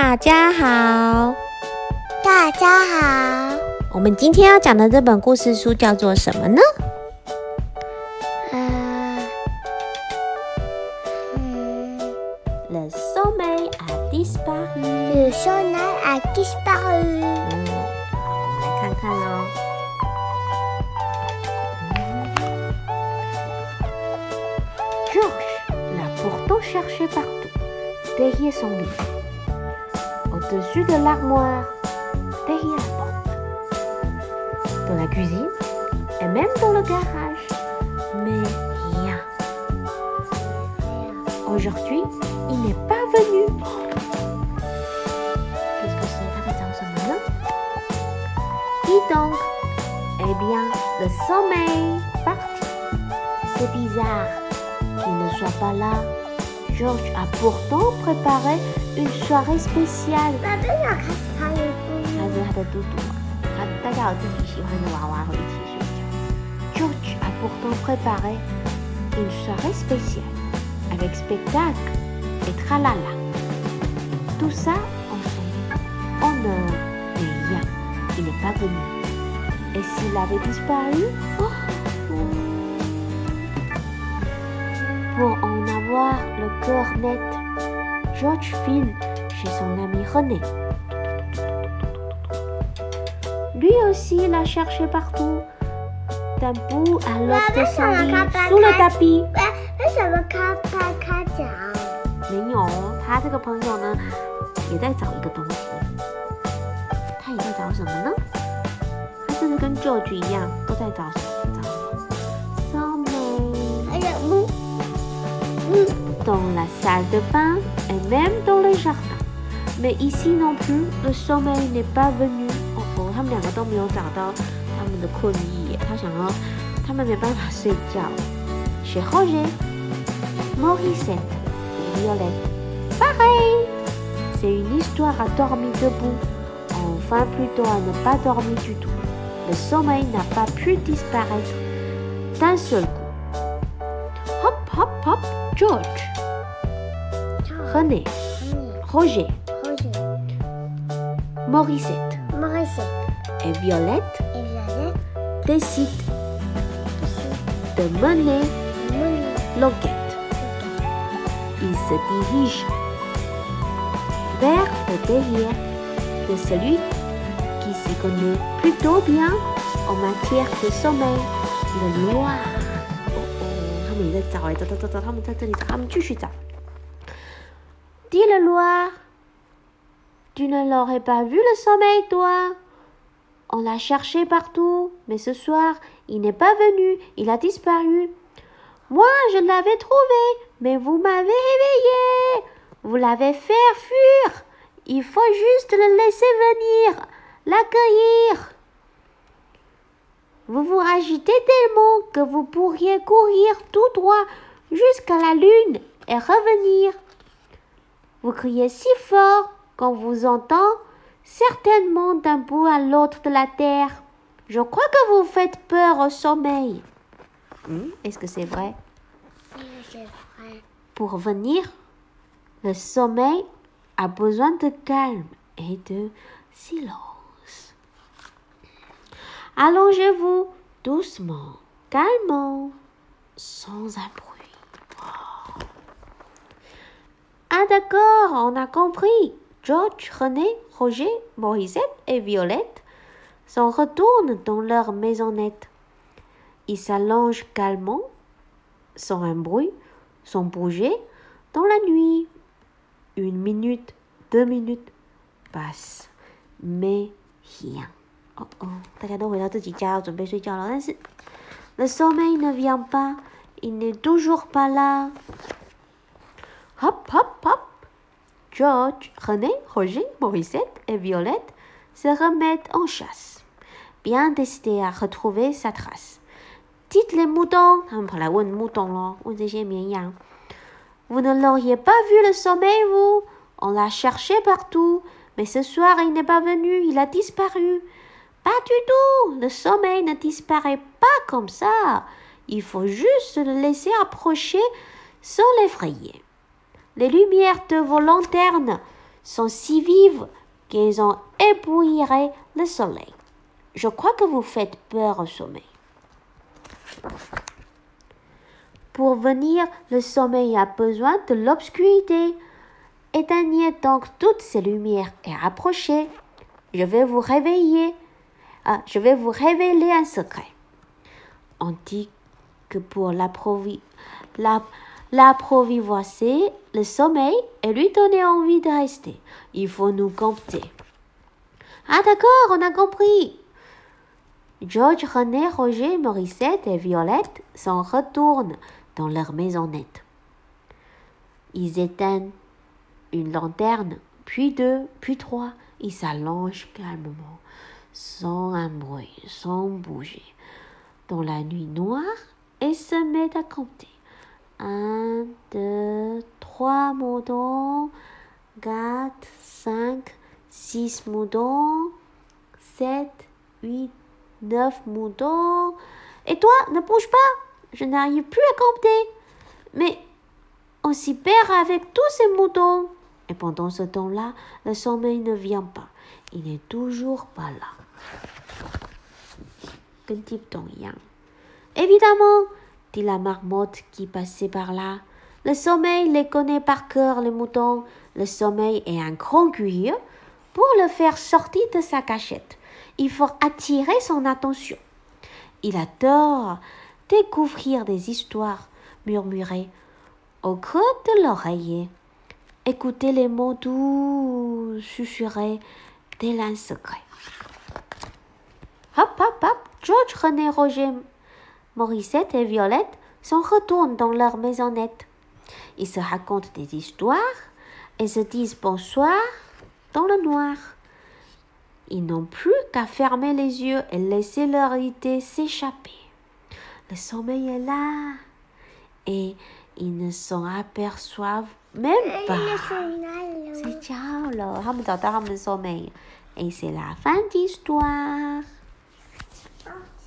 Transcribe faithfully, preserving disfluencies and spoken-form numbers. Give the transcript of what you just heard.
大家好， 大家好。 我们今天要讲的这本故事书叫做什么呢？ 呃，嗯 Le sommeil a disparu. Le soleil a disparu. 嗯，好，我们来看看哦。Georges l'a pourtant cherché partout, derrière son lit, au-dessus de l'armoire, derrière la porte, dans la cuisine et même dans le garage. Mais rien. Aujourd'hui, il n'est pas venu. Qu'est-ce que c'est? Ça fait ça ce moment? Dis donc. Eh bien, le sommeil parti. C'est bizarre qu'il ne soit pas là. Georges a pourtant préparé une soirée spéciale. 那这要开始唱一他是他的嘟嘟嘛，他大家有自己喜欢的娃娃会一起睡觉。Georges a pourtant préparé une soirée spéciale avec spectacle et tralala. Tout ça en son honneur, mais rien, il n'est pas venu. Et s'il avait disparu, oh, pour en avoir le cœur net, Georges file chez son ami René. Lui aussi l'a cherché partout, d'un bout à l'autre de son lit, sous le tapis. 为什么开拍开讲？ 没有，他这个朋友呢，也在找一个东西。他也在找什么呢？他是不是跟 George 一样，都在找什么？找 sommeil 还有木，嗯， dans la salle de bain et même dans le jardin. Mais ici non plus, le sommeil n'est pas venu. 哦哦，他们两个都没有找到他们的困意耶。他想要，他们没办法睡觉。Chez Roger, Morissette et Violette, pareil. C'est une histoire à dormir debout. Enfin, plutôt à ne pas dormir du tout. Le sommeil n'a pas pu disparaître d'un seul coup. Hop, hop, hop, George, René, Roger, Roger, Morissette Maurice et Violette et Violette décident de mener Moni l'enquête. Ils se dirigent vers le derrière de celui qui s'y connaît plutôt bien en matière de sommeil, le Loir. Oh oh, 他们也在找哎，找找找找，他们在这里找，他们继续找。Dis le Loir, tu ne l'aurais pas vu le sommeil, toi? On l'a cherché partout, mais ce soir, il n'est pas venu, il a disparu. Moi, je l'avais trouvé, mais vous m'avez réveillé. Vous l'avez fait fuir. Il faut juste le laisser venir, l'accueillir. Vous vous agitez tellement que vous pourriez courir tout droit jusqu'à la lune et revenir. Vous criez si fort qu'on vous entend certainement d'un bout à l'autre de la terre. Je crois que vous faites peur au sommeil. Hmm, est-ce que c'est vrai? C'est vrai. Pour venir, le sommeil a besoin de calme et de silence. Allongez-vous doucement, calmement, sans un bruit. Oh. Ah d'accord, on a compris. Georges, René, Roger, Morissette et Violette s'en retournent dans leur maisonnette. Ils s'allongent calmement, sans un bruit, sans bouger, dans la nuit. Une minute, deux minutes passent, mais rien. Oh oh, 大家都回到自己家，要准备睡觉了。但是 le sommeil ne vient pas, il n'est toujours pas là. Hop, hop, hop. Georges, René, Roger, Morissette et Violette se remettent en chasse, bien décidés à retrouver sa trace. Dites les moutons, 他们跑来问牧童咯，问这些绵羊。Vous ne l'auriez pas vu le sommeil, vous? On l'a cherché partout, mais ce soir il n'est pas venu, il a disparu. Pas du tout, le sommeil ne disparaît pas comme ça. Il faut juste le laisser approcher sans l'effrayer. Les lumières de vos lanternes sont si vives qu'elles ont éblouirait le soleil. Je crois que vous faites peur au sommeil. Pour venir, le sommeil a besoin de l'obscurité. Éteignez donc toutes ces lumières et approchez. Je vais vous réveiller. Ah, je vais vous révéler un secret. On dit que pour l'approvisionner, le sommeil et lui donner envie de rester, il faut nous compter. Ah d'accord, on a compris. George, René, Roger, Morissette et Violette s'en retournent dans leur maisonnette. Ils éteignent une lanterne, puis deux, puis trois. Ils s'allongent calmement, sans un bruit, sans bouger, dans la nuit noire et se mettent à compter. Un, deux, trois moutons, quatre, cinq, six moutons, sept, huit, neuf moutons. Et toi, ne bouge pas, je n'arrive plus à compter. Mais on s'y perd avec tous ces moutons. Et pendant ce temps-là, le sommeil ne vient pas. Il n'est toujours pas là. Évidemment, dit la marmotte qui passait par là. Le sommeil les connaît par cœur, les moutons. Le sommeil est un grand curieux. Pour le faire sortir de sa cachette, il faut attirer son attention. Il adore découvrir des histoires murmurées au creux de l'oreiller. Écoutez les mots doux susurrés tel un secret. Hop, hop, hop, George, René, Roger, Morissette et Violette s'en retournent dans leur maisonnette. Ils se racontent des histoires et se disent bonsoir dans le noir. Ils n'ont plus qu'à fermer les yeux et laisser leur idée s'échapper. Le sommeil est là et ils ne s'en aperçoivent même pas. C'est ciao了，他们找到他们的 soulmate， et c'est la fin d'histoire.